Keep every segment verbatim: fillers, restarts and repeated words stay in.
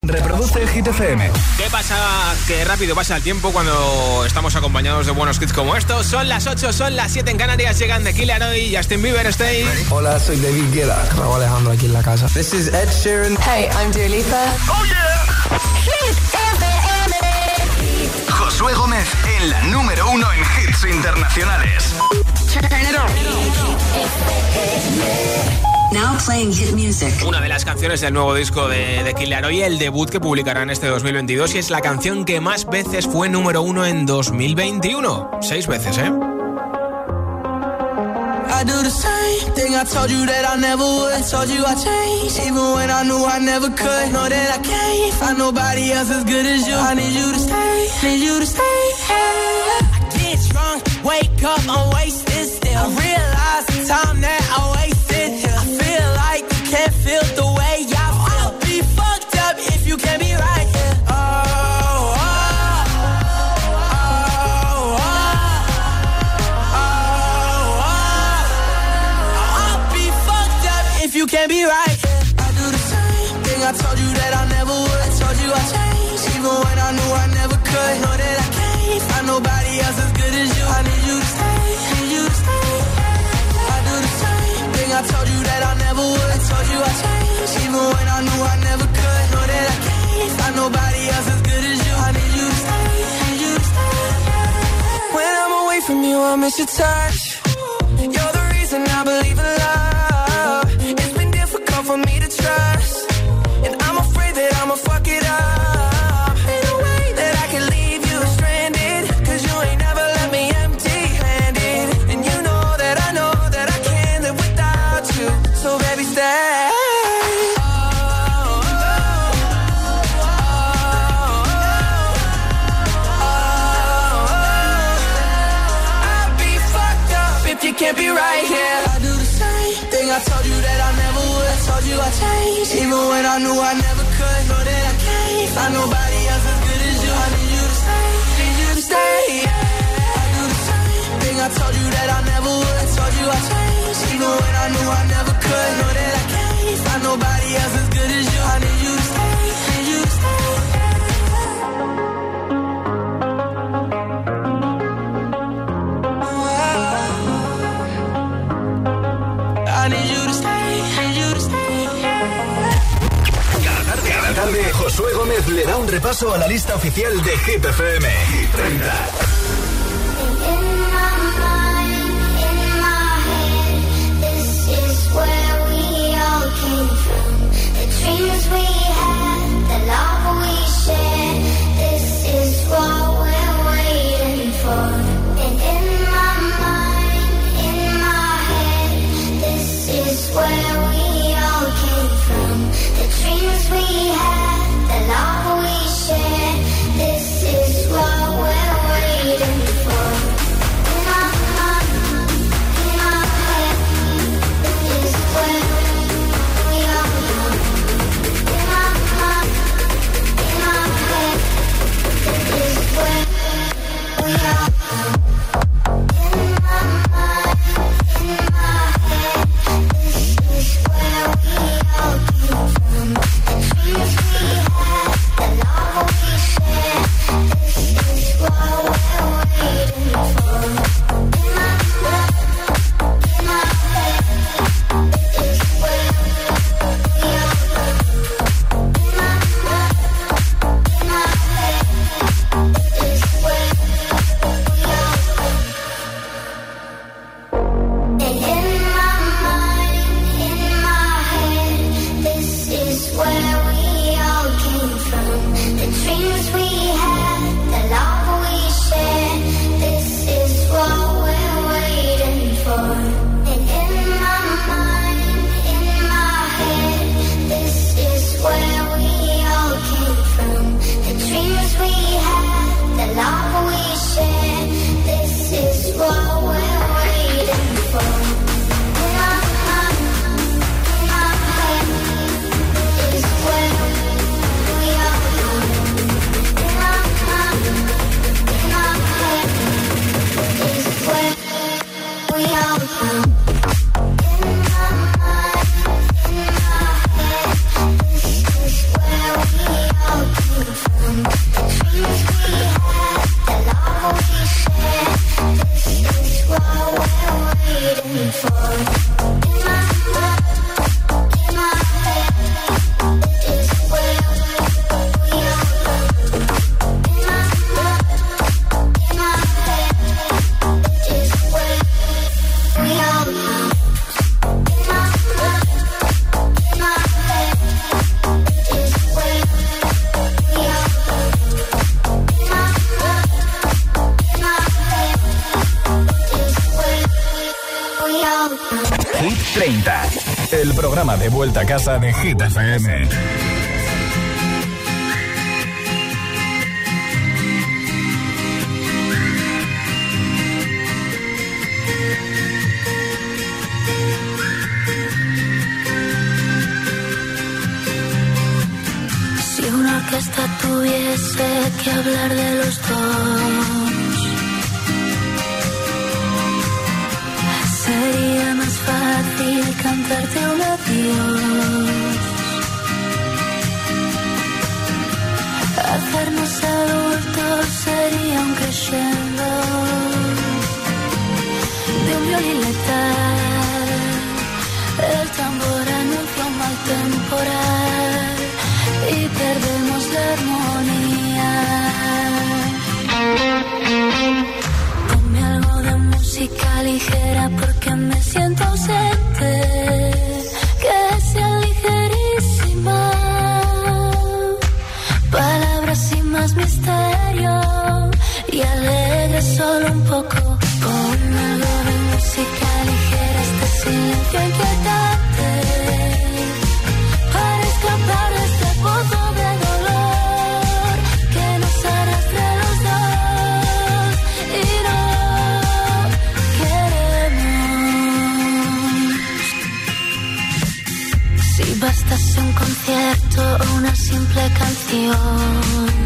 Reproduce Hit F M. ¿Qué pasa? Qué rápido pasa el tiempo cuando estamos acompañados de buenos hits como estos. Son las ocho, son las siete en Canarias. Llegan The Kid Laroi y Justin Bieber. Stay. Hola, soy David Guetta. Raúl Alejandro aquí en la casa. This is Ed Sheeran. Hey, I'm Dua Lipa. Oh yeah. Hit F M. Josué Gómez en la número uno en hits internacionales. Turn it on. Now playing hit music. Una de las canciones del nuevo disco de The Kid Laroi, el debut que publicarán este dos mil veintidós, y es la canción que más veces fue número uno en dos mil veintiuno. Seis veces, ¿eh? I do the same thing I told you that I never would. I told you I changed, even when I knew I never could. Know that I can't find nobody else as good as you. I need you to stay, need you to stay. I get drunk, wake up, I'm wasted still. I realize the time that I wasted here. I feel like you can't feel the way I feel. I'll be fucked up if you can't be right here. Oh, oh, oh, oh, oh, oh. I'll be fucked up if you can't be right here. I do the same thing I told you that I never would. I told you I changed, even when I knew I never could. Know that I can't find nobody else as good as you. I need you to stay, need you to stay. I do the same thing I told you that I never would. I told you I changed, even when I knew I never could. Know that I can't find nobody else as good as you. I need you to stay, need you to stay. When I'm away from you, I miss your touch. You're the reason I believe in love. It's been difficult for me to trust, and I'm afraid that I'ma fuck it up. Ain't no way that I can leave you stranded, 'cause you ain't never left me empty-handed. And you know that I know that I can't live without you. So baby, stay. You can't be right here. I do the same thing I told you that I never would. I told you I changed, even when I knew I never could. Know that I can't find nobody else as good as you. I need you to stay, need you to stay. I do the same thing I told you that I never would. I told you I changed, even when I knew I never could. Know that I can't find nobody else as good as you. I need you to stay, need you to stay. I need you to stay, need you to stay. Cada tarde, cada tarde, Josué Gómez le da un repaso a la lista oficial de Hit F M. Hit treinta. treinta, el programa de vuelta a casa de Hit F M. Si una orquesta tuviese que hablar de los dos, sería más fácil cantarte un adiós. Hacernos adultos sería un crescendo de un violín letal. El tambor anuncia un mal temporal y perdemos la armonía. Ponme algo de música ligera porque me siento ausente, que sea ligerísima, palabras sin más misterio y alegre solo un poco. Ponme algo de música ligera, este silencio inquietante, para escapar de este pozo de dolor que nos arrastra a los dos y no queremos. Si bastase un concierto o una simple canción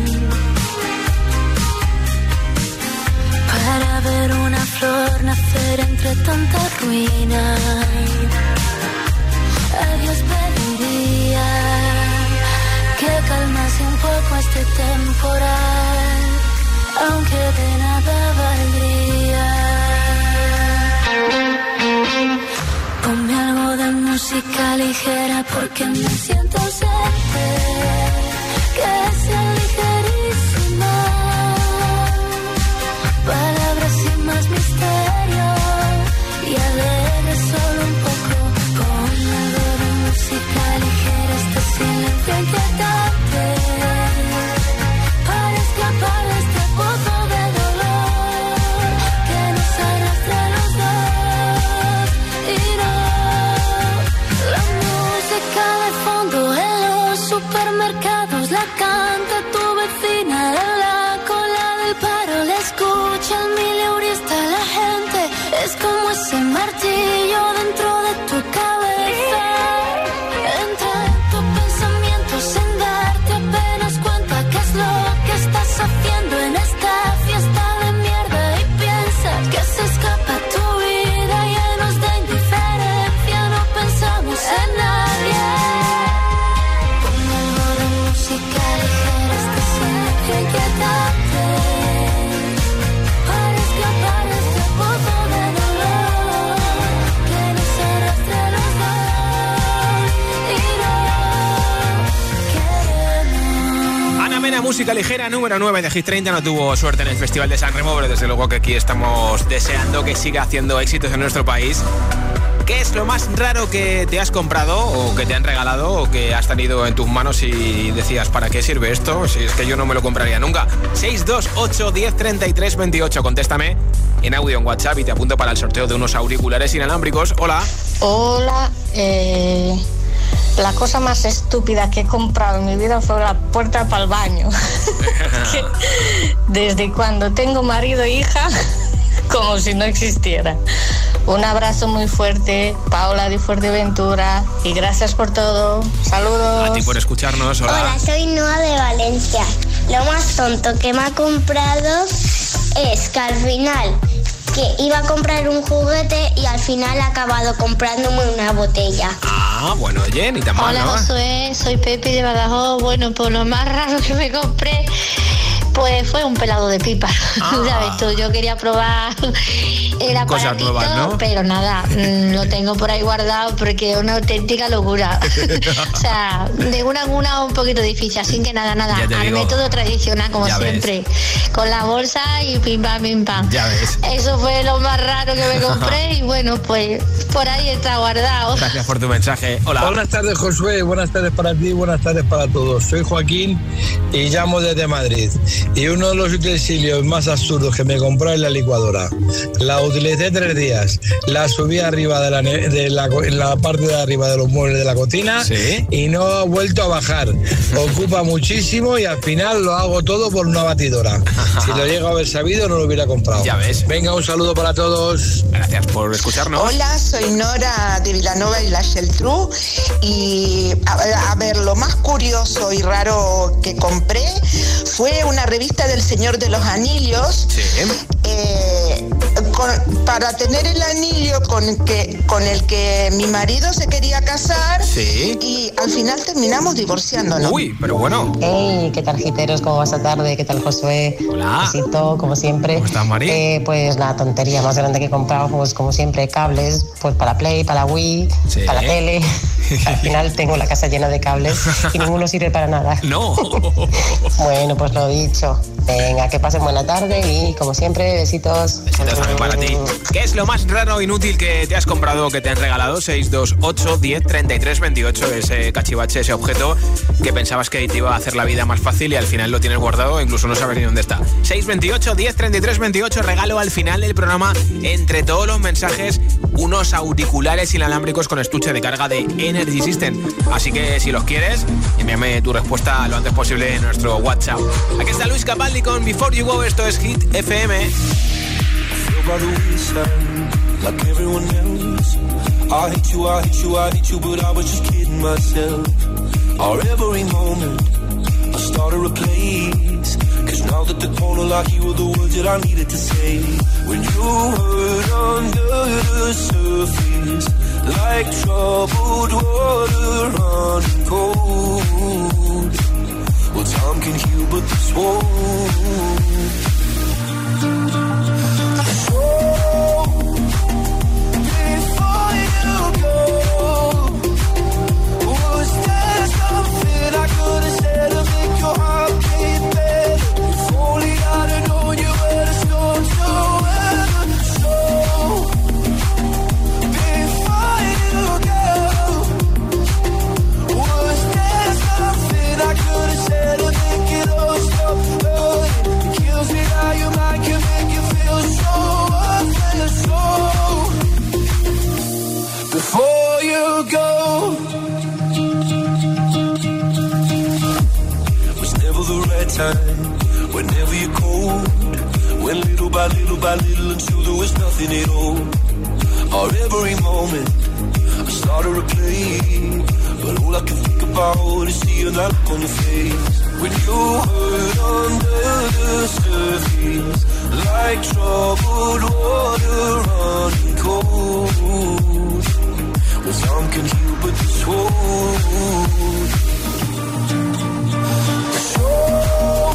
para ver una flor nacer entre tanta ruina, a Dios pediría que calmase un poco este temporal, aunque de nada valdría. Ponme algo de música ligera porque me siento ausente, que sea ligerísima, palabras sin más misterio y alegre solo un poco. Ponme algo de música ligera, este silencio inquietante, para escapar de este pozo de dolor que nos arrastra a los dos y no. La música de fondo en los supermercados la canta tu vecina en la cola del paro, la escucha el mileurista, la gente es como ese martillo dentro de tu cabeza. Entra en tu pensamiento sin darte apenas cuenta qué es lo que estás haciendo en esta fiesta de mierda y piensas que se escapa tu vida llenos de indiferencia, no pensamos en nadie. Ponme algo de música ligera, este silencio inquietante, para escapar de este pozo de dolor que nos arrastra a los dos y no queremos. Ana Mena, música ligera, número nueve de Hit treinta. No tuvo suerte en el Festival de San Remo, pero desde luego que aquí estamos deseando que siga haciendo éxitos en nuestro país. ¿Qué es lo más raro que te has comprado o que te han regalado o que has tenido en tus manos y decías, ¿para qué sirve esto? Si es que yo no me lo compraría nunca. seis dos ocho, diez, treinta y tres, veintiocho. Contéstame en audio en WhatsApp y te apunto para el sorteo de unos auriculares inalámbricos. Hola. Hola, eh, la cosa más estúpida que he comprado en mi vida fue la puerta para el baño. Que desde cuando tengo marido e hija, como si no existiera. Un abrazo muy fuerte, Paola de Fuerteventura, y gracias por todo. Saludos. A ti por escucharnos. Hola. Hola, soy Noa de Valencia. Lo más tonto que me ha comprado es que al final que iba a comprar un juguete y al final he acabado comprándome una botella. Ah, bueno, oye, ni tan mal, Hola, ¿no? Josué, soy Pepi de Badajoz. Bueno, pues lo más raro que me compré pues fue un pelado de pipa. Ah. ¿Sabes tú? Yo quería probar el Cosas aparatito, nuevas, ¿no? pero nada, mm, lo tengo por ahí guardado porque es una auténtica locura. O sea, de una en una un poquito difícil, así que nada, nada, Ya te al digo. método tradicional, como Ya siempre, con la bolsa y pim pam, pim pam. Ya ves. Eso fue lo más raro que me compré y bueno, pues por ahí está guardado. Gracias por tu mensaje. Hola. Buenas tardes, Josué. Buenas tardes para ti, buenas tardes para todos. Soy Joaquín y llamo desde Madrid. Y uno de los utensilios más absurdos que me compré es la licuadora. La utilicé tres días. La subí arriba de la, de la, en la parte de arriba de los muebles de la cocina. ¿Sí? Y no ha vuelto a bajar. Ocupa muchísimo y al final lo hago todo por una batidora. Si lo llego a haber sabido, no lo hubiera comprado. Ya ves. Venga, un saludo para todos. Gracias por escucharnos. Hola, soy Nora de Vilanova y la Geltrú. Y a, a ver, lo más curioso y raro que compré fue una revista del Señor de los Anillos. Sí. Eh, con, para tener el anillo con, que, con el que mi marido se quería casar. Sí. Y al final terminamos divorciándonos. Uy, pero bueno. Hey, ¿qué tal, giteros? ¿Cómo vas a tarde? ¿Qué tal, Josué? Hola. Besito, como siempre. ¿Cómo estás, Mari? Eh, pues la tontería más grande que he comprado, pues como siempre, cables, pues para Play, para Wii, sí. para la tele. Al final tengo la casa llena de cables y ninguno sirve para nada. No. Bueno, pues lo dicho. Venga, que pasen buena tarde y, como siempre, besitos. Besitos también para ti. ¿Qué es lo más raro o inútil que te has comprado o que te han regalado? seis dos ocho, diez, treinta y tres, veintiocho. Ese cachivache, ese objeto que pensabas que te iba a hacer la vida más fácil y al final lo tienes guardado e incluso no sabes ni dónde está. seis dos ocho, diez, treinta y tres, veintiocho. Regalo al final del programa, entre todos los mensajes, unos auriculares inalámbricos con estuche de carga de Energy System. Así que si los quieres, envíame tu respuesta lo antes posible en nuestro WhatsApp. Aquí está Luis Capaldi con Before You Go. Esto es Hit F M. Like everyone else, I hate you, I hate you, I hate you, but I was just kidding myself. Our every moment, I started a place. Cause now that the corner like you were the words that I needed to say. When you hurt under the surface, like troubled water running cold. Well, time can heal, but this won't. Before you go, was never the right time. Whenever you're cold, went little by little by little until there was nothing at all. Or every moment, I started to play, but all I can think about is seeing that look on your face. When you hurt under the surface, like troubled water running cold. Well, some can heal, but this won't. So,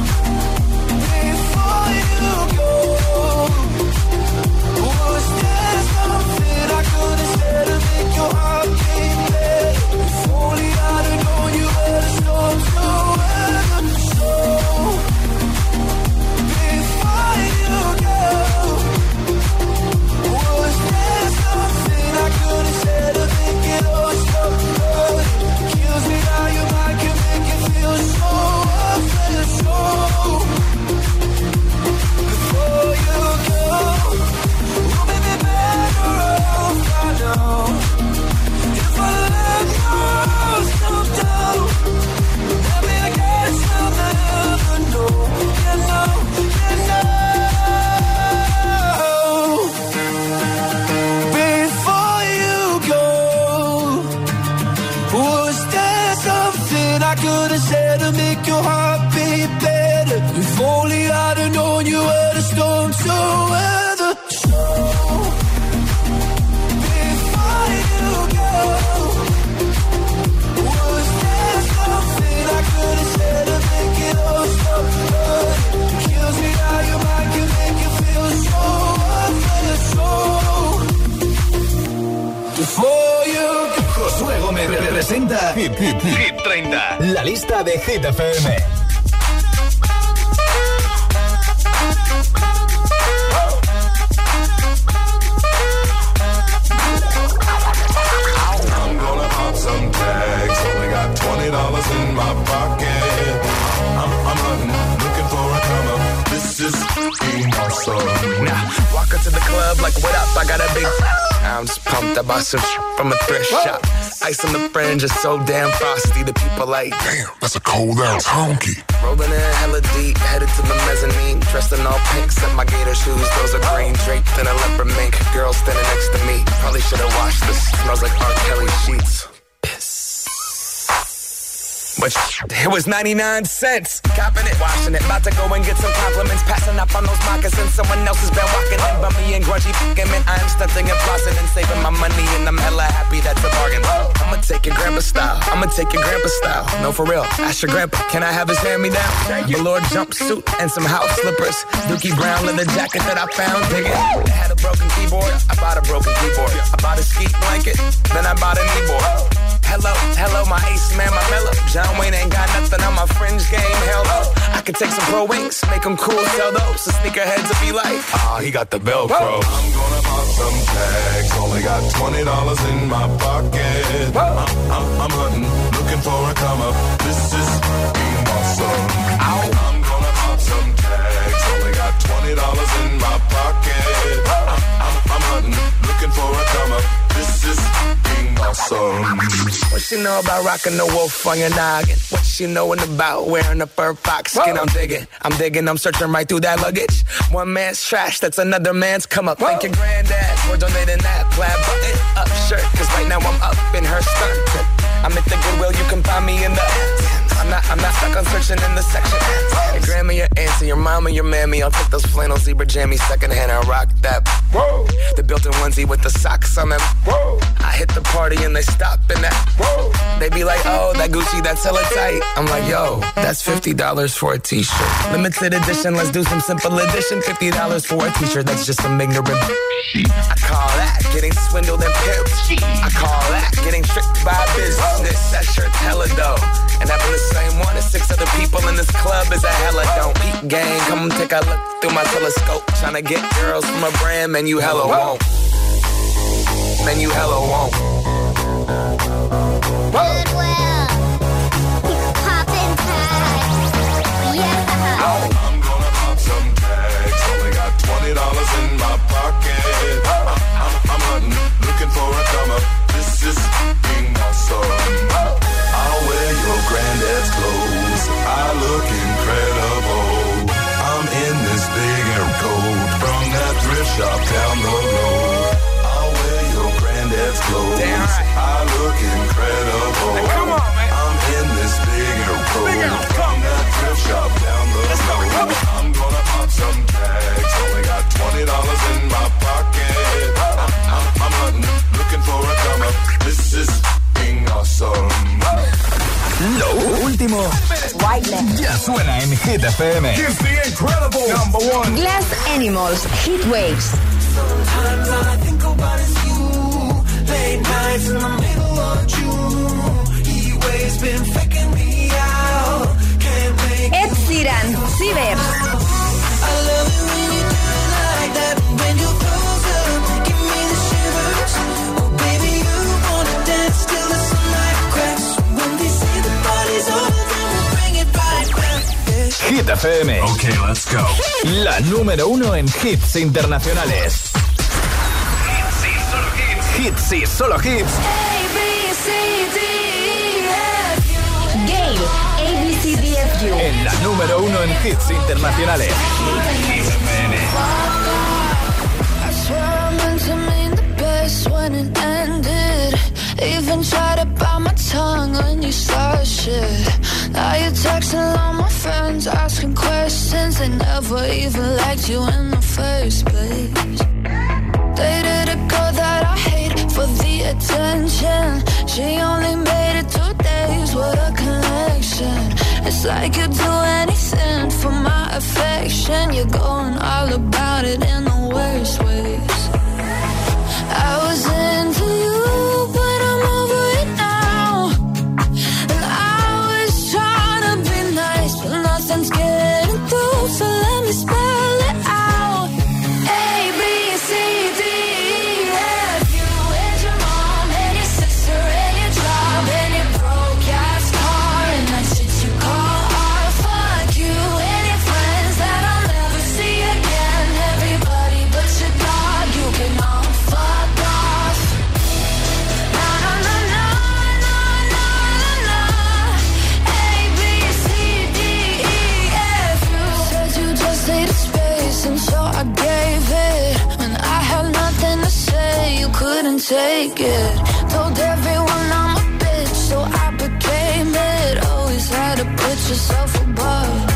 before you go, was there something I could have said to make your heart beat better? If only I'd have known you were the storm to weather. So, before you go, was there something I could have said to make it all stop hurting? Kills me how your mind can make it feel so worthless. So, before you go, we'll be better off, I know. If I let myself down, maybe I guess I'll never know. You know, you know. Before you go, was there something I could have said to make your heart beat better? If only I'd have known you were the storm to weather. So, before you go, was there something I could have said to make it all stop hurting? Kills me how your mind can make you feel so worthless. So, before you go. Josué Gómez representa Hit, Hit, Hit treinta, la lista de Hit F M. I'm gonna pop some tags. Only got twenty dollars in my pocket. I'm, I'm hunting, looking for a come up. This is being awesome. Now, walk up to the club like, what up, I got a big... I'm just pumped, I bought some from a thrift shop. Ice on the fringe is so damn frosty. The people like, damn, that's a cold ass honky. Rolling in hella deep, headed to the mezzanine. Dressed in all pink, set my gator shoes. Those are green, draped in a leopard mink. Girl standing next to me, probably should've washed this. Smells like R. Kelly sheets. But it was ninety-nine cents. Copping it, washing it. About to go and get some compliments. Passing up on those moccasins. Someone else has been walking in. Bummy and grungy fucking man. I am stunting and flossing and saving my money. And I'm hella happy that's a bargain. I'ma take your grandpa style. I'ma take your grandpa style. No, for real. Ask your grandpa. Can I have his hand-me-down? Velour jumpsuit and some house slippers. Dookie brown leather jacket that I found. Dig it. It had a broken keyboard. I bought a broken keyboard. I bought a ski blanket. Then I bought a kneeboard. Hello, hello, my ace man, my mellow. John Wayne ain't got nothing on my fringe game, hell no. I could take some pro wings, make them cool, sell those. The sneakerheads will be like, ah, oh, he got the Velcro. Whoa. I'm gonna pop some tags, only got twenty dollars in my pocket. I'm, I'm, I'm hunting, looking for a come up. This is being awesome. Ow. I'm gonna pop some tags, only got twenty dollars in my pocket. I'm, I'm, I'm hunting, looking for a come up. This is being awesome. What she know about rocking the wolf on your noggin? What she knowin' about wearing a fur fox skin? Whoa. I'm digging, I'm digging, I'm searching right through that luggage. One man's trash, that's another man's come up. Whoa. Thank your granddad for donating that plaid button up shirt. Cause right now I'm up in her skirt. I'm at the Goodwill, you can find me in the... I'm not, I'm not stuck on searching in the section. Your grandma, your auntie, your mama, your mammy. I'll take those flannel zebra jammies secondhand and rock that. Whoa. The built-in onesie with the socks on them. Whoa. I hit the party and they stop in that. Whoa. They be like, oh, that Gucci, that's hella tight. I'm like, yo, that's fifty dollars for a t-shirt. Limited edition, let's do some simple edition. fifty dollars for a t-shirt, that's just some ignorant. I call that getting swindled and pimped. I call that getting tricked by business. That shirt's hella dope. And having the same one as six other people in this club is a hella don't. Peep gang, come take a look through my telescope. Tryna get girls from a brand, man, you hella won't. Man, you hella won't. Goodwill. Poppin' tags. Yeah. I'm gonna pop some tags. Only got twenty dollars in my pocket. I'm, I'm, I'm hunting, looking for a come up. This is being awesome. I'll wear your granddad's clothes. I look incredible. I'm in this big air coat from that thrift shop down the road. I'll wear your granddad's clothes. Damn right. I look incredible. Hey, come on, man. I'm in this big air coat from that thrift shop down the Let's road. Go, I'm gonna pop some tags. Only got twenty dollars in my pocket. I'm, I'm, I'm hunting, looking for a come up. This is being awesome. Lo último ya suena en Hit F M. Here's the incredible number one. Glass Animals, Heat Waves. Sometimes all I think about is you. Late nights in the middle of June. Heat waves been faking me out. Can't make Ed Sheeran, Cibers. I love it when you do it like that. When you close up, give me the shivers. Oh baby, you wanna dance till the sunlight cracks. When they say the party's over, then we'll bring it right back. Hit F M. Okay, let's go. La número uno en hits internacionales. Hits y solo hits. Gale, A B C D F U. En la número uno en hits internacionales. Hit F M. I swear I meant to mean the best when it ended. Even tried to bite my tongue when you started shit. Now you're texting all my friends, asking questions. They never even liked you in the first place. Dated a girl that I hate for the attention. She only made it two days, what a connection. It's like you'd do anything for my affection. You're going all about it in the worst ways. I was into you, but I'm over it now. And I was trying to be nice, but nothing's getting through. So let me spell it out. A, B, C, D, E, F, U. And your mom, and your sister, and your job, and your broke ass car, and that shit you call art. Fuck you and your friends that I'll never see again. Everybody but your dog. take it. Told everyone I'm a bitch, so I became it. Always had to put yourself above.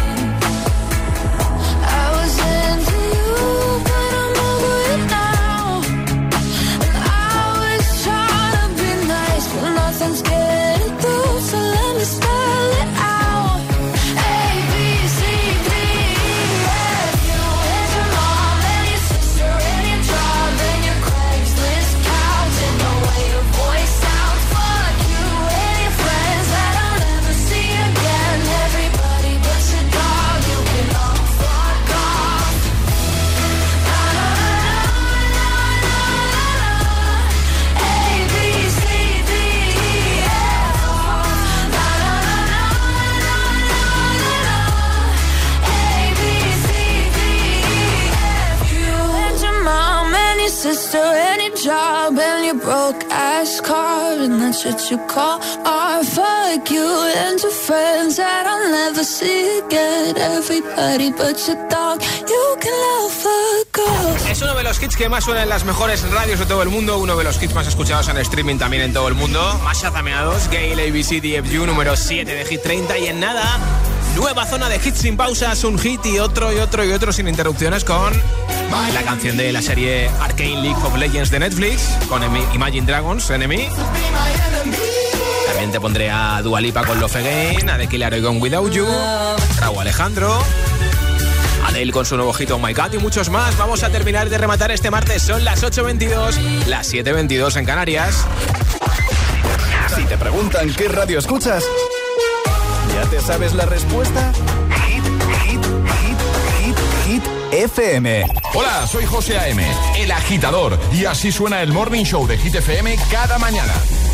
I was into you, but I'm over it now. And I was trying to be nice, but nothing's getting through, so let me spell it out. A, B, C, D, E, F, you and your mom and your sister and your job and your Craigslist couch and the way your voice sounds. Fuck you and your friends that I'll never see again. Everybody but your dog, you can all fuck off. Na na na na na na. A, B, C, D, E, F. Na na na na na na. A, B, C, D, E, F. You and your mom and your sister and your job and your broke ass car, and that's what you call art. Fuck you and your friends that I'll never see again. Everybody but your dog, you can love fuck off. Es uno de los hits que más suena en las mejores radios de todo el mundo, uno de los hits más escuchados en streaming también en todo el mundo, más chazameados. Gale, A B C D F U, número siete de Hit treinta, y en nada, nueva zona de hits sin pausas, un hit y otro y otro y otro sin interrupciones con la canción de la serie Arcane League of Legends de Netflix, con Imagine Dragons, Enemy. También te pondré a Dua Lipa con Love Again, a The Killer Gone Without You, Raúl Alejandro, Adele con su nuevo hit Oh My God y muchos más. Vamos a terminar de rematar este martes. Son las ocho veintidós, las siete veintidós en Canarias. Si te preguntan qué radio escuchas, ¿ya te sabes la respuesta? Hit, hit, hit, hit, hit F M. Hola, soy José A M, el agitador, y así suena el Morning Show de Hit F M cada mañana.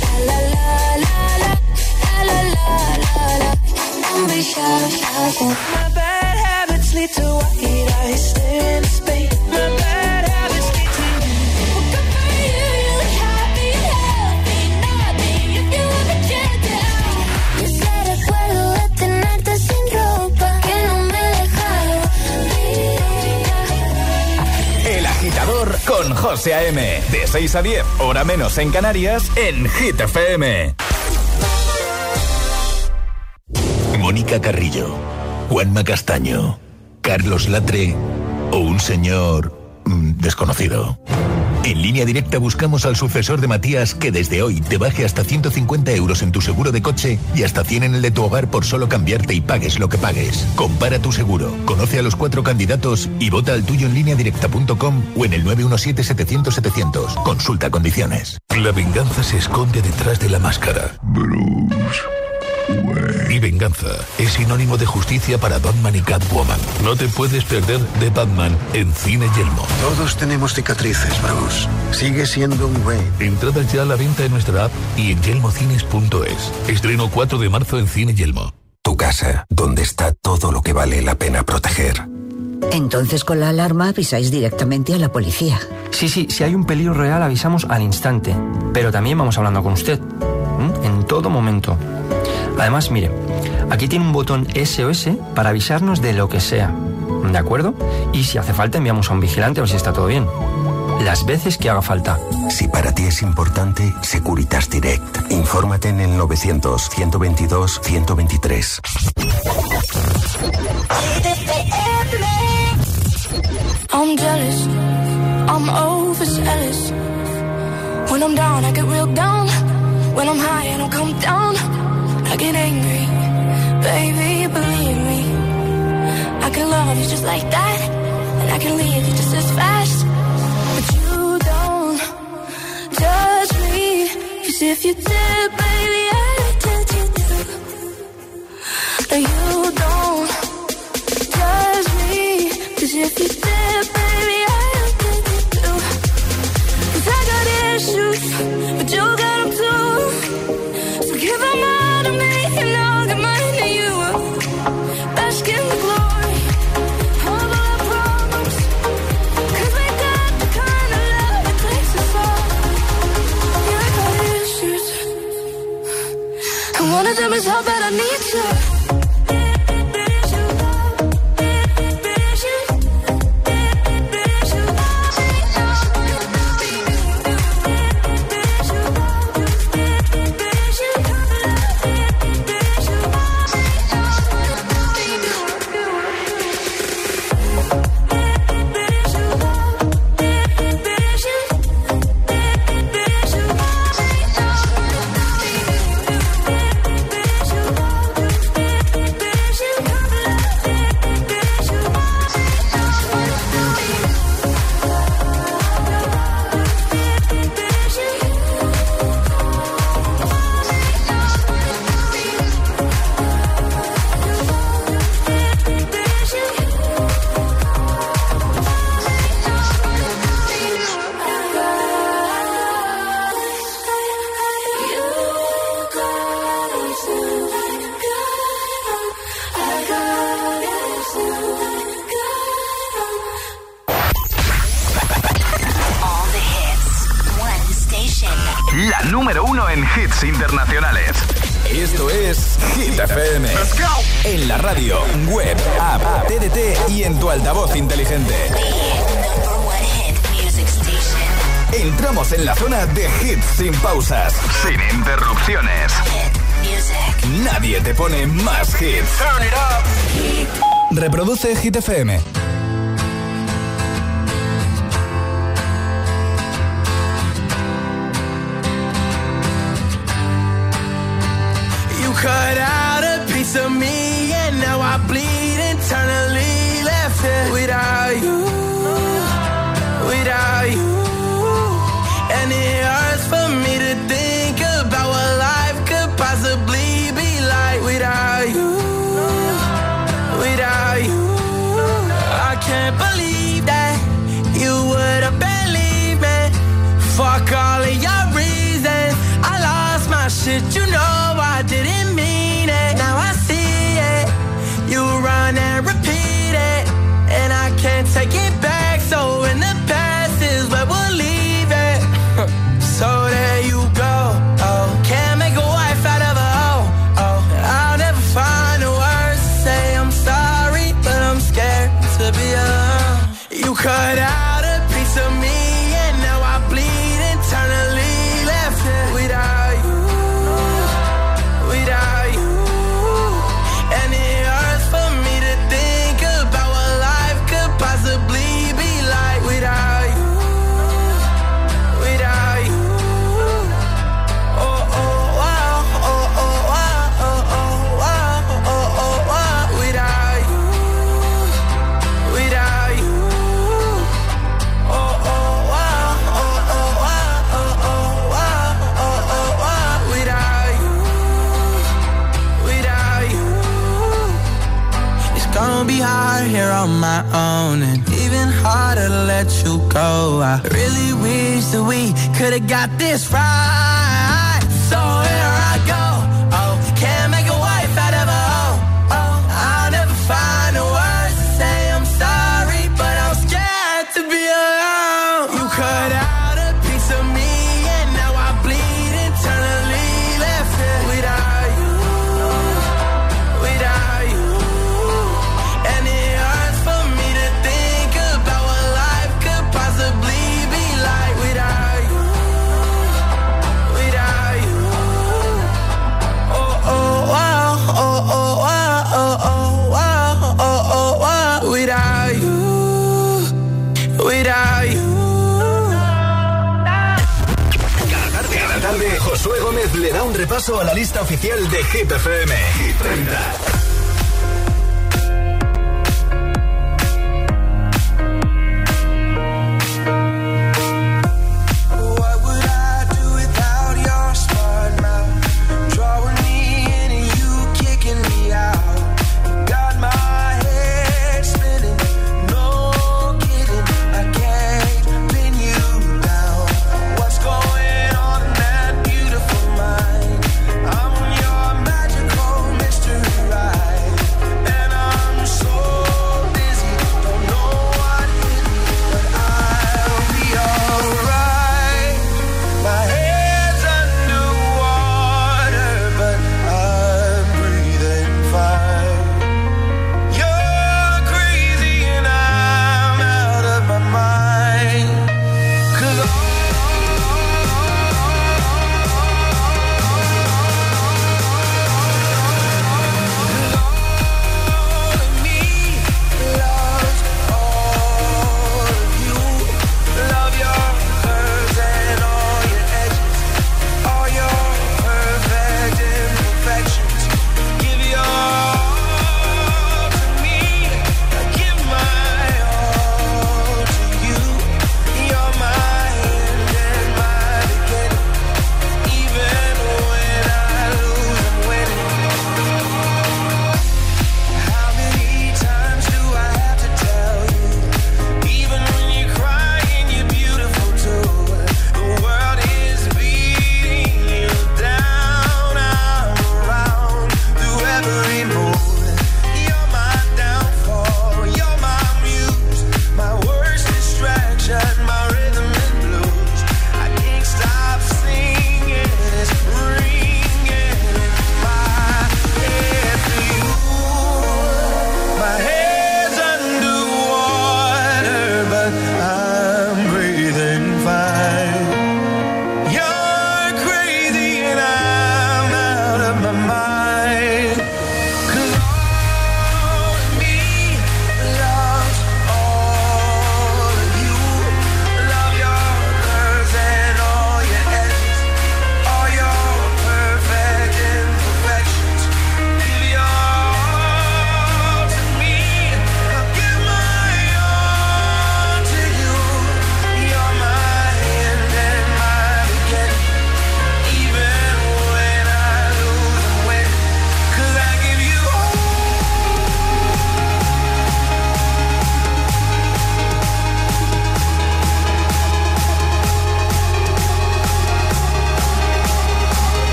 My bad habits lead to white eyes staring into space. My bad habits lead to what good for you. You look happy, healthy, nothing if you ever check it out. Yo sé, recuerdo de tenerte sin ropa, que no me dejaron ir. El agitador con José A M. De seis a diez, hora menos en Canarias, en Hit F M. Mónica Carrillo, Juanma Castaño, Carlos Latre o un señor mmm, desconocido. En Línea Directa buscamos al sucesor de Matías que desde hoy te baje hasta ciento cincuenta euros en tu seguro de coche y hasta cien en el de tu hogar por solo cambiarte y pagues lo que pagues. Compara tu seguro, conoce a los cuatro candidatos y vota al tuyo en línea directa punto com o en el nueve uno siete, setecientos, setecientos. Consulta condiciones. La venganza se esconde detrás de la máscara. Bruce Wayne. Y venganza es sinónimo de justicia para Batman y Catwoman. No te puedes perder de Batman en Cine Yelmo. Todos tenemos cicatrices, Bruce. Sigue siendo un Wayne. Entradas ya a la venta en nuestra app y en yelmocines punto es. Estreno cuatro de marzo en Cine Yelmo. Tu casa, donde está todo lo que vale la pena proteger. Entonces con la alarma avisáis directamente a la policía. Sí, sí, si hay un peligro real avisamos al instante. Pero también vamos hablando con usted. ¿Mm? En todo momento. Además, mire, aquí tiene un botón S O S para avisarnos de lo que sea. ¿De acuerdo? Y si hace falta enviamos a un vigilante a ver si está todo bien. Las veces que haga falta. Si para ti es importante, Securitas Direct. Infórmate en el novecientos, ciento veintidós, ciento veintitrés. I'm jealous, I'm overzealous. When I'm down, I get real down. When I'm high, I don't come down. I get angry, baby, believe me. I can love you just like that, and I can leave you just as fast. But you don't judge me, 'cause if you did, baby, I'd tell you to. No, you don't judge me, 'cause if you did, baby, I'd tell you to. 'Cause I got issues, but you got them too. So give them all to me, and I'll get mine to you. Bask in the glory of our problems, 'cause we got the kind of love that takes us all. Yeah, I got issues, and one of them is how bad I need you. número uno en hits internacionales. Esto es Hit F M. Let's go. En la radio, web, app, T D T y en tu altavoz inteligente. Entramos en la zona de hits sin pausas, sin interrupciones. Nadie te pone más hits. Turn it up. Reproduce Hit F M. You cut out a piece of me and now I bleed internally, left it without you, without you. And it hurts for me to think about what life could possibly be like without you, without you. I can't believe that you would have believed me. Fuck all of your reasons. I lost my shit, you know I didn't mean it. Now I see it. You run and repeat it, and I can't take it back. So in the past is where we'll leave it. So there you go. Oh, can't make a wife out of a hoe. Oh, I'll never find the words to say I'm sorry, but I'm scared to be alone. You cut out a piece of me, and now I bleed internally, left it without you, without you. And it hurts for me to think about what life could possibly be like without you, without you. Oh, oh, wow, oh, oh, wow, oh, oh, wow, oh, oh, wow, without you, without you. Oh, oh, wow, oh, oh, wow, oh, oh, wow, oh, oh, wow, without you, without you. It's gonna be hard here on my own, and even harder to let you go. I really wish that we could've got this right. So here I go. Oh, can't make a wife out of a hoe. Oh, I'll never find the words to say I'm sorry, but I'm scared to be alone. You cut out a piece of me, and now I bleed internally, left it without you, without you. And it hurts for me to think about what life could possibly be like without you, without you. Oh, oh, wow, oh, oh, wow, oh, oh, wow, oh, oh, wow, without you, without you. Cada tarde, Josué Gómez le da un repaso a la lista oficial de Hit F M. Hit treinta. What would I do without your smart mouth? Drawing me in and you kicking me out. Got my head spinning, no kidding. I can't pin you down. What's going on in that beautiful mind? I'm on your magical mystery ride.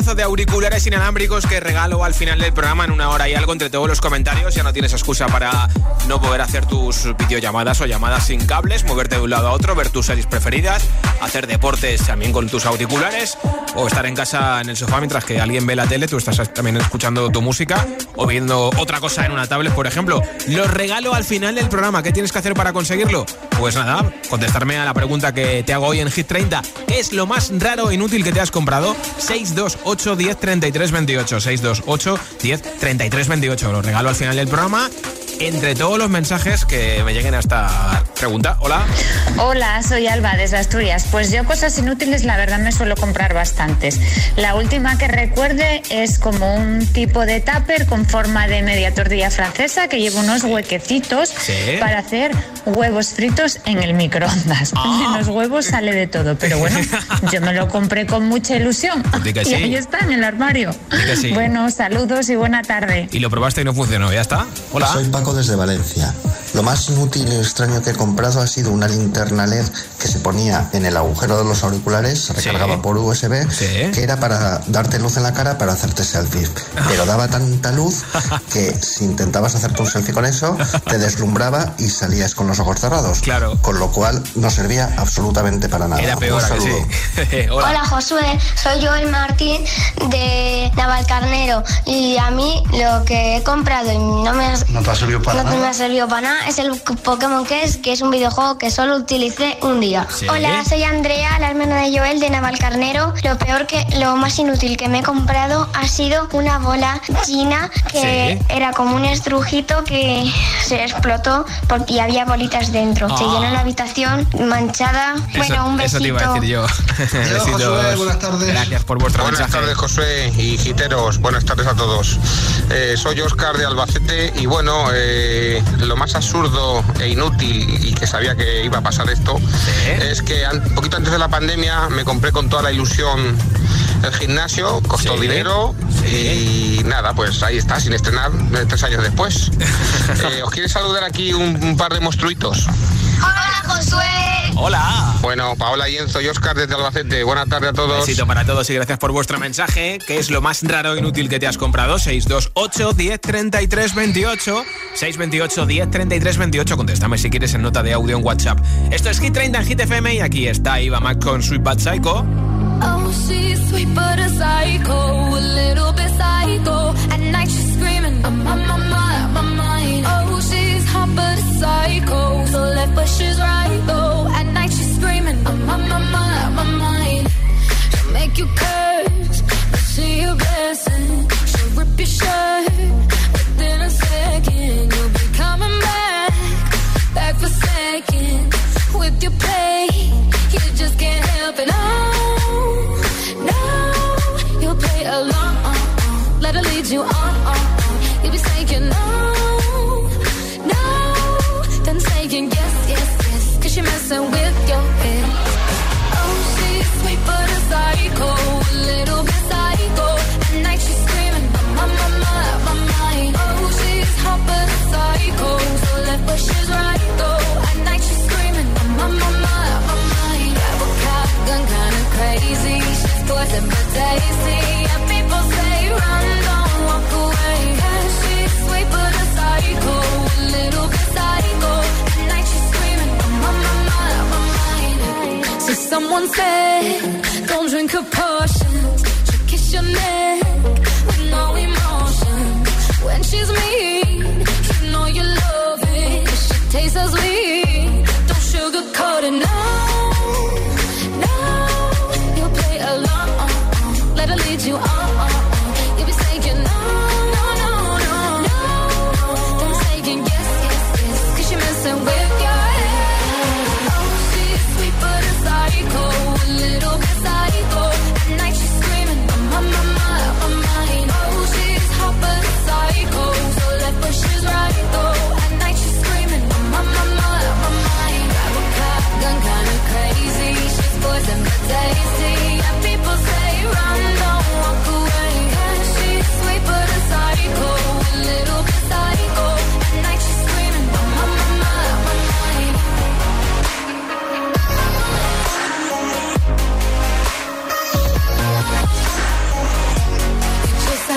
pedazo de auriculares inalámbricos que regalo al final del programa en una hora y algo entre todos los comentarios. Ya no tienes excusa para no poder hacer tus videollamadas o llamadas sin cables, moverte de un lado a otro, ver tus series preferidas, hacer deportes también con tus auriculares o estar en casa en el sofá mientras que alguien ve la tele, tú estás también escuchando tu música o viendo otra cosa en una tablet, por ejemplo. Los regalo al final del programa. ¿Qué tienes que hacer para conseguirlo? Pues nada, contestarme a la pregunta que te hago hoy en Hit treinta. ¿Qué es lo más raro e inútil que te has comprado? seis dos ocho, diez, treinta y tres, veintiocho. seis dos ocho, diez, treinta y tres, veintiocho. Lo regalo al final del programa entre todos los mensajes que me lleguen a esta pregunta. Hola. Hola, soy Alba desde Asturias. Pues yo cosas inútiles la verdad me suelo comprar bastantes. La última que recuerde es como un tipo de tupper con forma de media tortilla francesa que lleva unos huequecitos ¿sí? para hacer huevos fritos en el microondas. Ah. En los huevos sale de todo, pero bueno, yo me lo compré con mucha ilusión. Diga y sí. ahí está en el armario. Diga sí. Bueno, saludos y buena tarde. Y lo probaste y no funcionó, ya está. Hola. Soy Paco desde Valencia. Lo más inútil y extraño que he comprado ha sido una linterna L E D que se ponía en el agujero de los auriculares, se recargaba sí. por U S B, sí. que era para darte luz en la cara para hacerte selfies. Pero daba tanta luz que si intentabas hacerte un selfie con eso, te deslumbraba y salías con los ojos cerrados. Claro. Con lo cual no servía absolutamente para nada. Era peor. Un saludo. Sí. Hola. Hola Josué, soy Joel Martín de Navalcarnero y a mí lo que he comprado y no me, ¿No te ha servido para no nada? me ha servido para nada es el Pokémon Quest, que es un videojuego que solo utilicé un día. ¿Sí? Hola, soy Andrea, la hermana de Joel de Navalcarnero. Lo peor que, lo más inútil que me he comprado ha sido una bola china que ¿Sí? era como un estrujito que se explotó por- y había bolitas dentro. Ah. Se llenó la habitación manchada. Eso, bueno, un besito. eso te iba a decir yo. Besitos. Josué, buenas tardes. Gracias por vuestro Buenas mensaje. tardes, José y giteros. Buenas tardes a todos. Eh, soy Óscar de Albacete y bueno, eh, lo más absurdo e inútil y que sabía que iba a pasar esto ¿Sí? es que un poquito antes de la pandemia me compré con toda la ilusión el gimnasio, costó Sí. dinero Sí. y nada, pues ahí está, sin estrenar eh, tres años después. Eh, ¿Os quiere saludar aquí un, un par de monstruitos? Hola, Josué. Hola. Bueno, Paola y Enzo y Óscar desde Albacete. Buenas tardes a todos. Besito para todos y gracias por vuestro mensaje. ¿Qué es lo más raro e inútil que te has comprado? seis dos ocho, diez, treinta y tres, veintiocho. seis dos ocho, diez, treinta y tres, veintiocho. Contéstame si quieres en nota de audio en WhatsApp. Esto es Hit treinta en Hit F M y aquí está Eva Mac con Sweet Bad Psycho. Oh, she's sweet but a psycho, a little bit psycho. At night she's screaming, I'm on my mind, my mind. Oh, she's hot but a psycho, so left but she's right though. At night she's screaming, I'm on my mind, my mind. She'll make you curse, but she a blessing. She'll rip your shirt, within a second you'll be coming back, back for seconds. With your play, you just can't help it. Oh, no, you'll play along. Let her lead you on. You'll be saying no, no, then saying yes, yes, yes. Cause you're messing with your head. Oh, she's sweet but a psycho, a little bit psycho. At night she's screaming, I'm on my mind, my mind. Oh, she's hot but a psycho, so left but she's right though. At night she's screaming, I'm on my mind, my mind. Grab a shotgun, kinda crazy. She's poison but tasty. And people say run, don't walk away. Yeah, she's sweet but a psycho, a little bit psycho. At night she's screaming, I'm on my mind, my mind.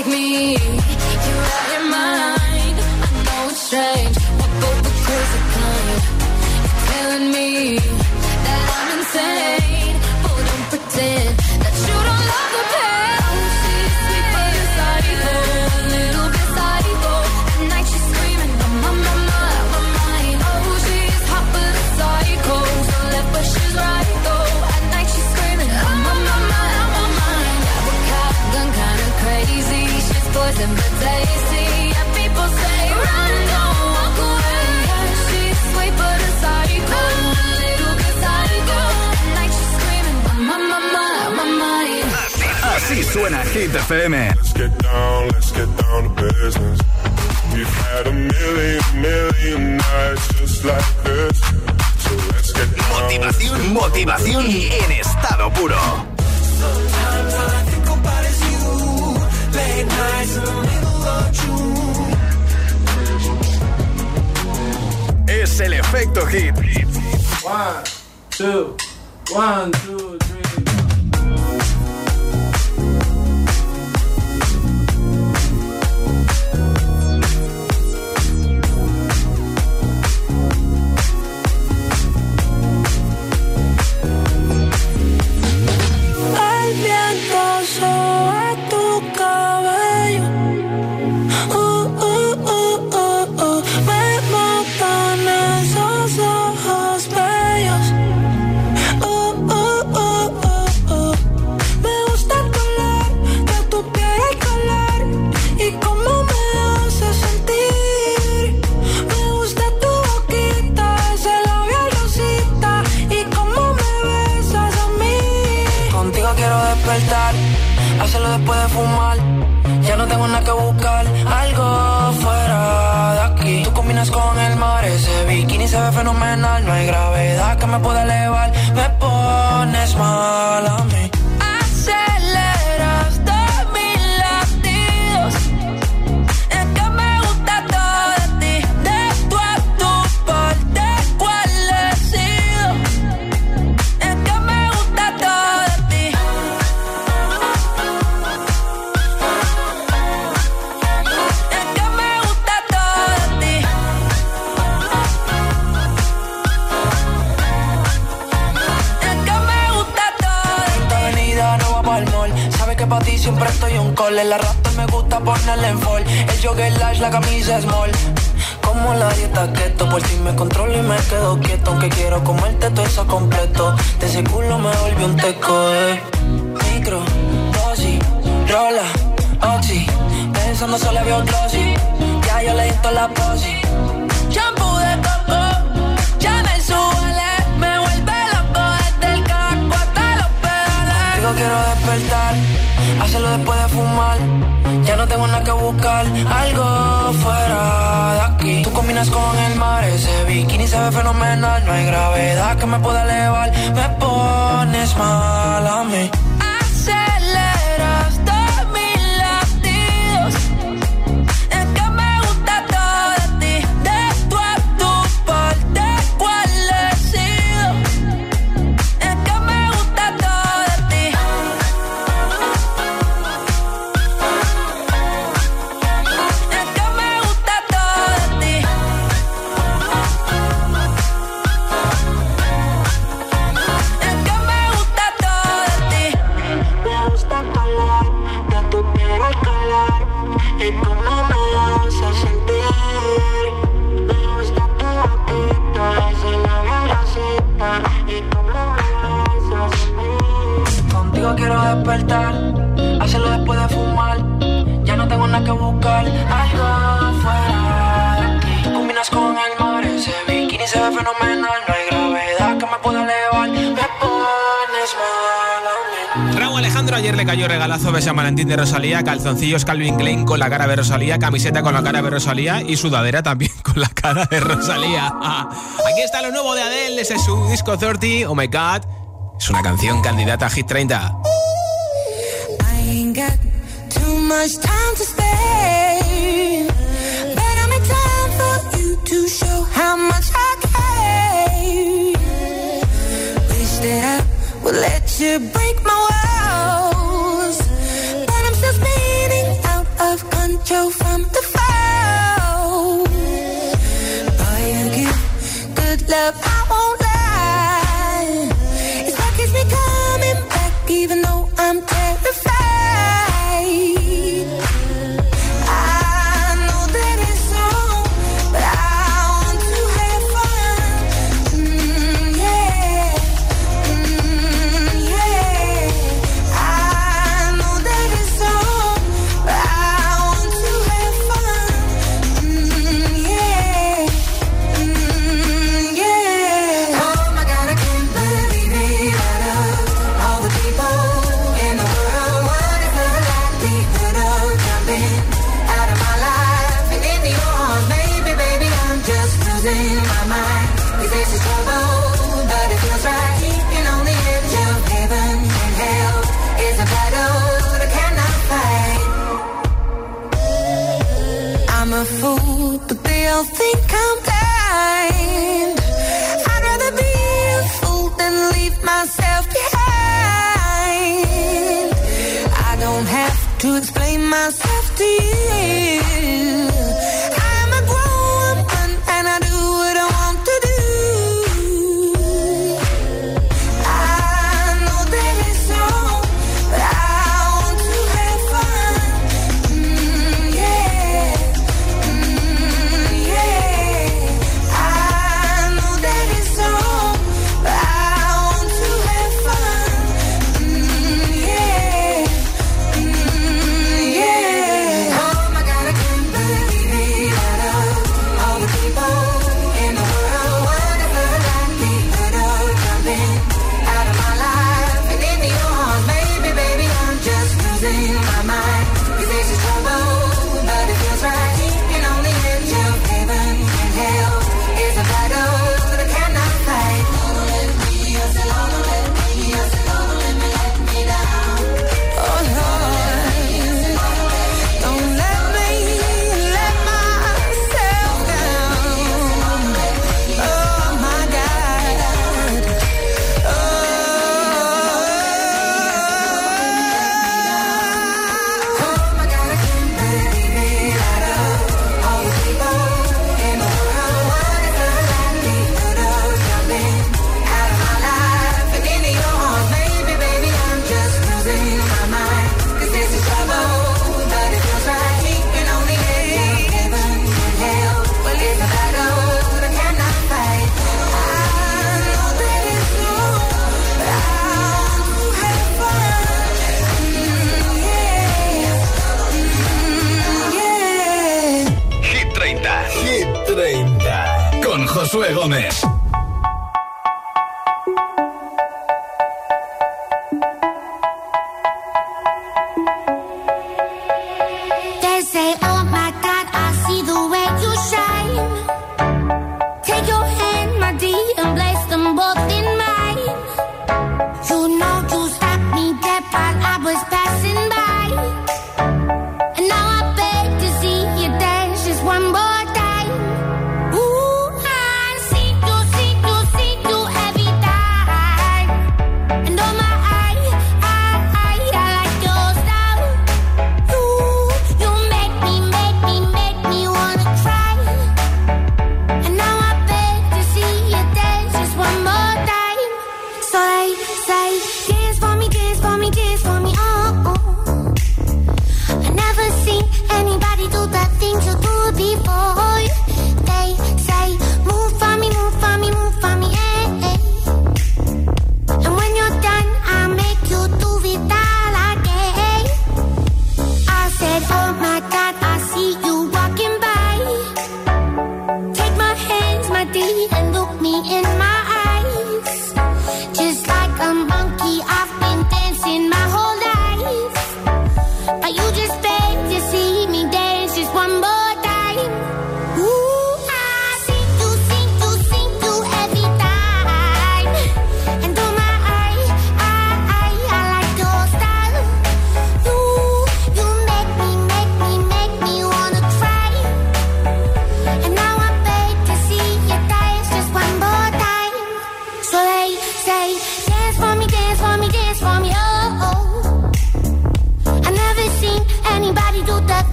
like me. You're out your mind. I know it's strange. We're both the crazy kind. You're telling me that I'm insane. But don't pretend that you don't love the pain. Oh, she's sweet but a psycho, a little bit psycho. At night she's screaming, I'm on my mind, my mind. Oh, she's hot but a psycho, so left but she's right though. At night she's screaming, I'm on my mind, I'm on my mind. Got a cop gun, kinda crazy. She's poison but tasty. And people say, run, don't walk away. She's sweet but a psycho, a little bit psycho. At night she's screaming, I'm on my mind, my mind. Así suena Hit F M. Let's get down, let's get down to business. We've had a million, million nights just like this. So let's get down. Motivación, motivación en estado puro. Sometimes all I think about is you. Late nights in the middle of June. Es el efecto hit. One, two, one, two, three. El viento sobre tu cabello. Uh, uh, uh, uh, uh. Me matan esos ojos bellos. Uh, uh, uh, uh, uh. Me gusta el color de tu piel, el color y cómo me hace sentir. Me gusta tu boquita, ese labial rosita y cómo me besas a mí. Contigo quiero despertar, hacerlo después de fumar. Ya no tengo nada que buscar, algo fuera de aquí. Tú combinas con el mar, ese bikini se ve fenomenal. No hay gravedad que me pueda elevar, me pones mal a mí. Aceleras todos mis latidos. Es que me gusta todo de ti. De tu a tu parte, ¿cuál he sido? Es que me gusta todo de ti. Es que me gusta todo de ti. Es que me gusta todo de ti. Esta avenida no va pa'l mall. Sabes que pa' ti siempre estoy un call. El arrastre me gusta ponerle en fall. El jogger large, la camisa small. Como la dieta keto, por si me controlo y me quedo quieto. Aunque quiero comerte todo eso completo. De ese culo me volvió un teco, eh. Micro, dosis, rola, oxi. Pensando solo veo glossy. Ya yo le di toda la posi. Shampoo de coco, ya me suele. Me vuelve loco desde el casco hasta los pedales. Digo quiero despertar, hacerlo después de fumar. Ya no tengo nada que buscar, algo fuera de aquí. Tú combinas con el mar, ese bikini se ve fenomenal. No hay gravedad que me pueda elevar, me pones mal a mí. Aceleras todos mis latidos. Es que me gusta todo de ti. De tu a tu parte, ¿cuál he sido? Es que me gusta todo de ti. Es que me gusta todo de ti. Es que me gusta todo de ti. Me gusta el color de tu piel, el color y cómo me hace sentir. Me gusta tu boquita, ese labio rosita y cómo me hace sentir. Contigo quiero despertar, hacerlo después de fumar. Ya no tengo nada que buscar, algo fuera de aquí. Tú combinas con el mar, ese bikini se ve fenomenal. No hay gravedad que me pueda elevar, me pones mal a mí. Raúl Alejandro ayer le cayó regalazo de San Valentín de Rosalía, calzoncillos Calvin Klein con la cara de Rosalía, camiseta con la cara de Rosalía y sudadera también con la cara de Rosalía. Ah, aquí está lo nuevo de Adele, ese es su disco treinta, Oh My God. Es una canción candidata a Hit treinta. I ain't got too much time to spare, but I make time for you to show how much I care. Wish that I would let you break my walls, but I'm still spinning out you from the fall. Boy, you give good love, I won't lie. It's like it's me coming back, even though I'm terrified. I know that it's wrong, but I want to have fun. Mm, yeah, mm, yeah. I know that it's wrong, but I want to have fun. Mm, yeah, mm, yeah. Oh my God, I can't believe it. Out of all the people in the world, what is the likelihood of jumping out of my life and into your arms? Maybe, baby, I'm just losing my mind. 'Cause this is trouble, but it feels right. Keeping on the edge of heaven and hell is a battle that I cannot fight. I'm a fool, but they all think I'm blind. I'd rather be a fool than leave myself behind. I don't have to explain myself to you. I'm a grown woman and I do what I want to do. I know that it's wrong, but I want to have fun. Mm, yeah, mm, yeah. I know that it's wrong, but I want to have fun. Mm, yeah, mm, yeah. Oh my God, I can't believe it. Out of all the people in the world, what is the likelihood of jumping out of my life and into your arms? Maybe, baby, I'm just losing my mind. 'Cause this is trouble, but it feels right. Keeping on the edge of heaven and hell is a battle that I cannot fight. Don't let me, I said, don't let me, I said, don't let me let me down. Oh Lord, don't let me let myself down. Oh my God. Oh, oh my God, I can't believe it. Out of all the people in the world, what is the likelihood of jumping out of my life and into your arms? Maybe, baby, I'm just losing my mind. 'Cause this is trouble, but it feels right. Keeping on the edge of heaven and hell. Well, it's a battle that I cannot fight. I know that it's wrong, but I want to have fun. Mm, yeah, mm, yeah. Hit treinta. Hit treinta. Con Josué Gómez. They say, oh my God, I see the way you shine. Take your hand, my dear, and place them both in mine. You know you stopped me dead while I was passing by. And now I beg to see you dance just one more time. Ooh, I see you, see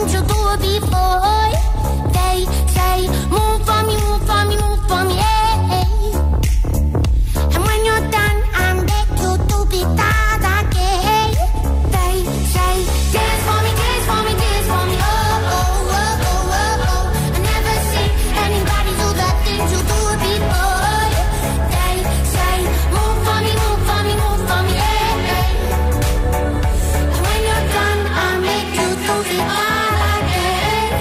things you do before. They say, move for me, move for me, move for me, yeah. And when you're done, I beg you to be that again. They say, dance for me, dance for me, dance for me, oh, oh, oh, oh, oh, oh. I never seen anybody do the things you do before. They say, move for me, move for me, move for me, yeah. And when you're done, I make you do the all again,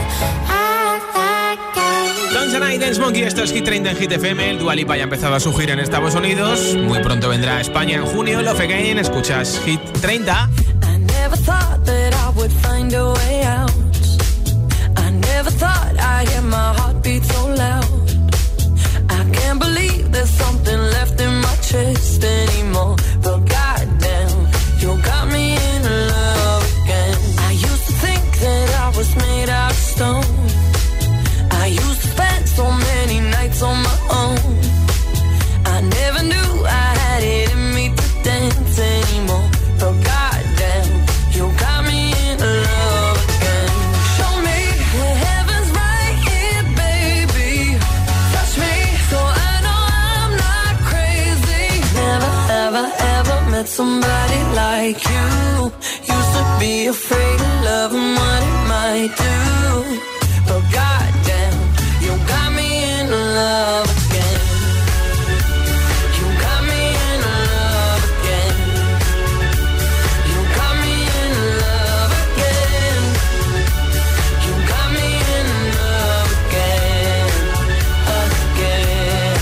again. Dance and I, Dance Monkey, esto es Hit treinta en Hit F M. El Dua Lipa ya ha empezado a su gira en Estados Unidos. Muy pronto vendrá a España en junio. Love Again, escuchas Hit treinta. I never thought that I would find a way out. I never thought I'd hear my heartbeat so loud. I can't believe there's something left in my chest anymore. But goddamn, you got me in love again. I used to think that I was made out of stone. I used to spend so many nights on my own. I never knew I had it in me to dance anymore. But goddamn, you got me in love again. Show me that heaven's right here, baby. Touch me so I know I'm not crazy. Never, ever, ever met somebody like you. Used to be afraid of love and what it might do. But goddamn, you got me in love again. You got me in love again. You got me in love again. You got me in love again, again.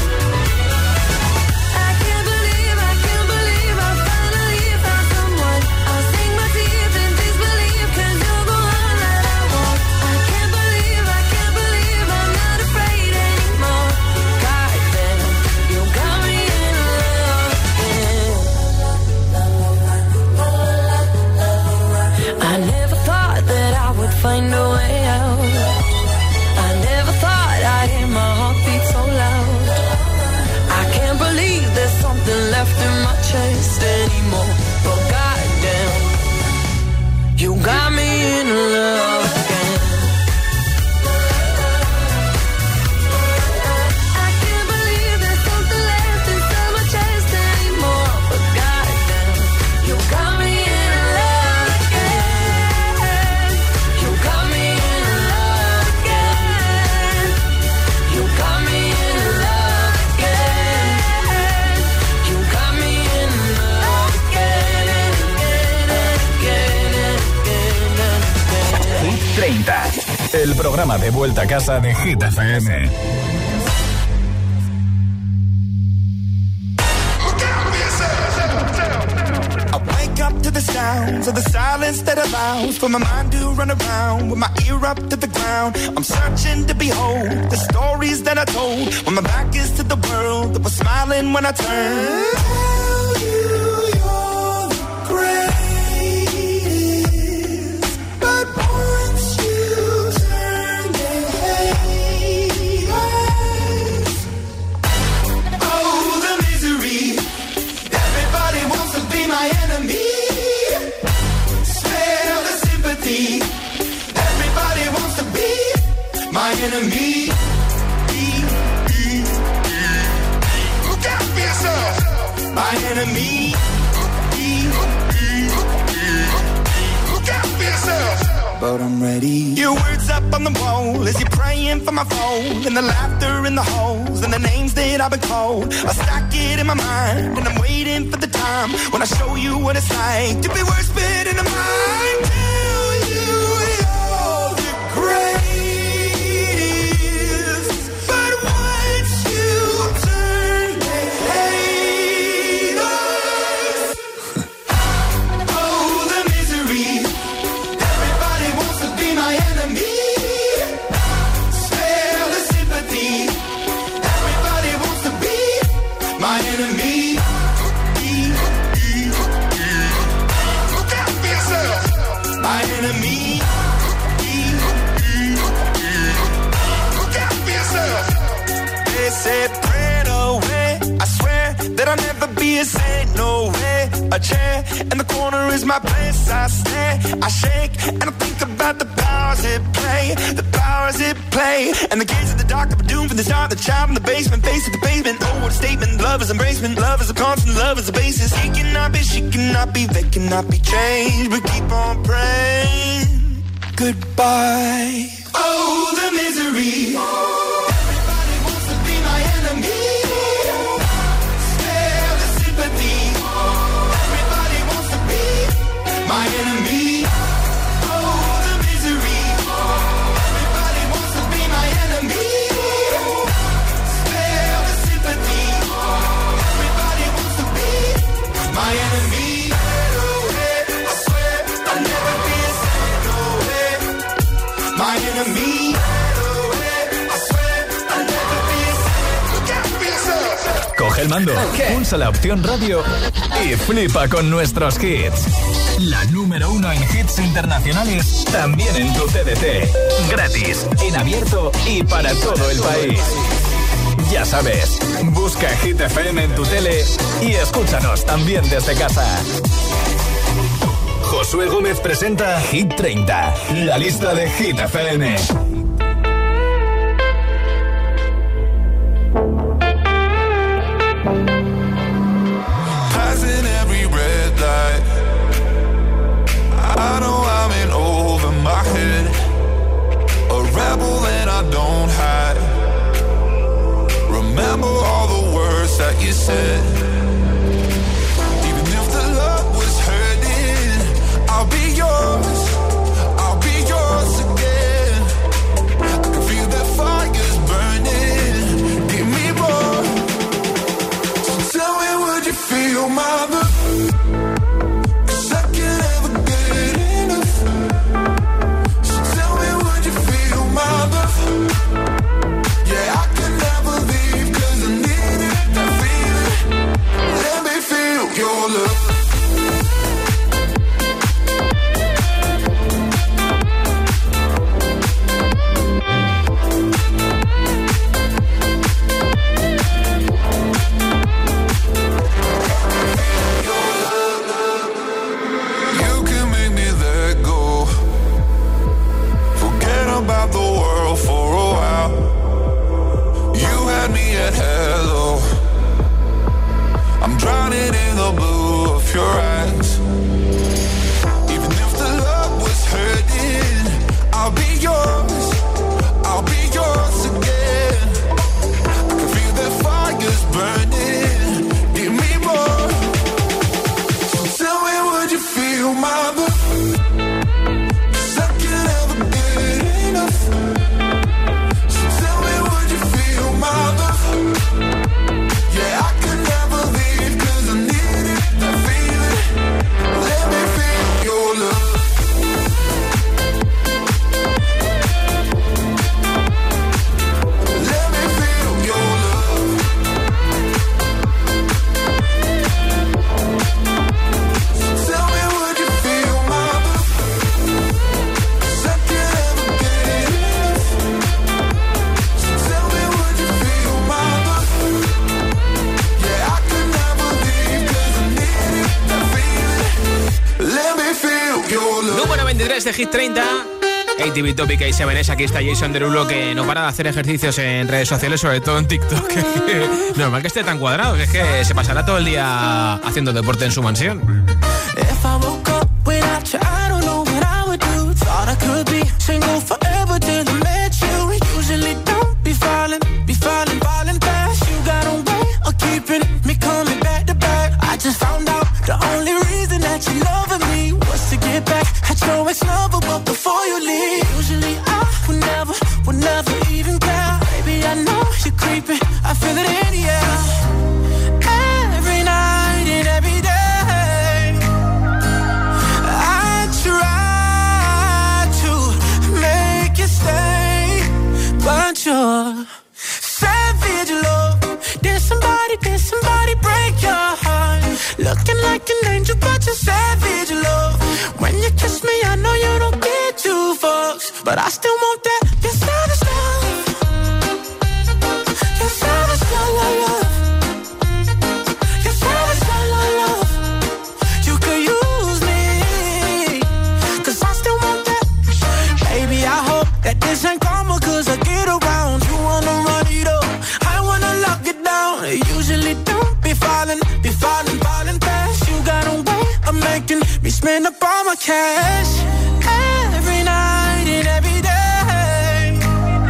I can't believe, I can't believe I finally found someone. I'll sing my tears in disbelief 'cause you're the one that I want. I can't believe, I can't believe I'm not afraid anymore. Goddamn, you got me in love again. I never thought that I would find a way out. I never thought I'd hear my heartbeat so loud. I can't believe there's something left in my chest anymore. But goddamn, you got me in love again. I can't believe there's something left inside my chest anymore. But goddamn, you got me in love again. You got me in love again. You got me in love again. You got me in love again and again and again and again and again. Hit treinta, el programa de vuelta a casa de Hit F M. I wake up to the sounds of the silence that allows for my mind to run around with my ear up to the ground. I'm searching to behold the stories that I told when my back is to the world that was smiling when I turned. Tell you you're the greatest, but once you turn, they hate us. Oh, the misery. Everybody wants to be my enemy. Spare the sympathy. Everybody wants to be my enemy. Look out for yourself. My enemy. Look out for yourself. But I'm ready. Your words up on the wall as you're praying for my phone, and the laughter in the halls and the names that I've been called. I stack it in my mind and I'm waiting for the time when I show you what it's like to be worse fit in the mind. Tell you you're the greatest, but once you turn, they hate us. Oh, the misery. Everybody wants to be my enemy. Spare the sympathy. Everybody wants to be my enemy. Look out for yourself. My enemy. Look out for yourself. They said, pray away. I swear that I'll never be a saint, no way. A A chair in the corner is my place. I stare, I shake, and I think about the powers it play, the powers it play. And the gates of the dark are doomed from the start. The child in the basement, face of the pavement. Oh, what a statement! Love is embracement, love is a constant, love is a basis. He cannot be, she cannot be, they cannot be changed. But keep on praying. Goodbye. Oh, the misery. Everybody wants to be my enemy. Spare the sympathy. Everybody wants to be my enemy. Oh, the misery. Everybody wants to be my enemy. Spare the sympathy. Everybody wants to be my enemy. I swear I'll never be a psycho. My enemy. Coge el mando, okay. Pulsa la opción radio y flipa con nuestros hits. La número uno en hits internacionales, también en tu T D T. Gratis, en abierto y para todo el país. Ya sabes, busca Hit F M en tu tele y escúchanos también desde casa. Josué Gómez presenta Hit treinta, la lista de Hit F M. Passing every red light, I know I'm in over my head, a rebel and I don't hide. Remember all the words that you said. Even if the love was hurting, I'll be yours, I'll be yours again. I can feel the fires burning, give me more. So tell me, would you feel my love? 'Cause I can't ever get enough. So tell me, would you feel my love? Yeah, I can never leave 'cause I need it, that feeling. Let me feel your love. About the world for a while. You had me at hello. I'm drowning in the blue of your eyes. Even if the love was hurting, I'll be yours, I'll be yours again. I can feel the fires burning, give me more. So tell me, would you feel my love? De Hit treinta, A T V Topic y siete S. Aquí está Jason Derulo, que no para de hacer ejercicios en redes sociales, sobre todo en TikTok. Normal que esté tan cuadrado, es que se pasará todo el día haciendo deporte en su mansión. So it's never but before you leave. Usually I would never, would never even care. Baby, I know you're creeping, I feel it in the air. Every night and every day, I try to make you stay, but you're savage love. Did somebody, did somebody break your heart? Looking like an angel, but you're savage love. When you kiss me, I know you don't get two fucks, but I still want that. You're savage love. You're savage love, love, love. You're savage love, love, love. that this ain't karma, cause I get around. You wanna run it up, I wanna lock it down. I usually don't be falling, be falling, falling fast. You got a way of making me spend up all my cash. Every night and every day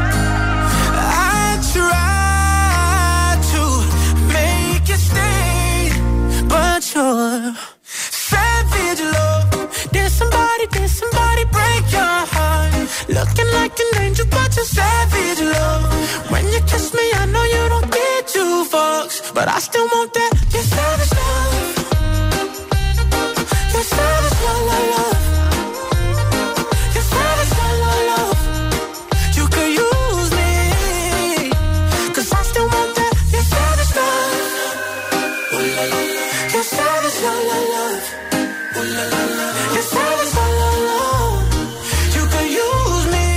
I try to make you stay, but you're savage love. Did somebody, did somebody break your heart? Looking like an angel, but you're savage love. When you kiss me, I know you don't get two fucks, but I still want that. You're savage love. You're savage love, love, love. You're savage love, love, love. You could use me, cause I still want that. You're savage love. Ooh la la la. You're savage love, love, love. Ooh la la la. You're savage love, love, love. You could use me,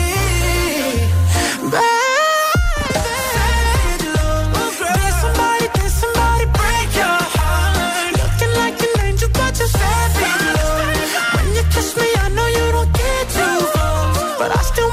baby. Savage love. Did somebody, did somebody break your heart? Looking like an angel, but you're savage love. When you kiss me, I know you don't get too far, but I still